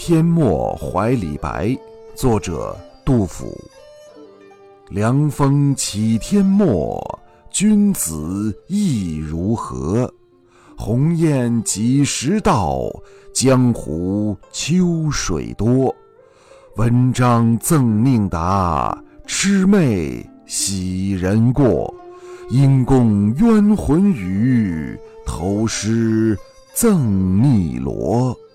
天末怀李白，作者杜甫。凉风起天末，君子意如何？鸿雁几时到？江湖秋水多。文章赠命达，魑魅喜人过。因公冤魂语，投诗赠汨罗。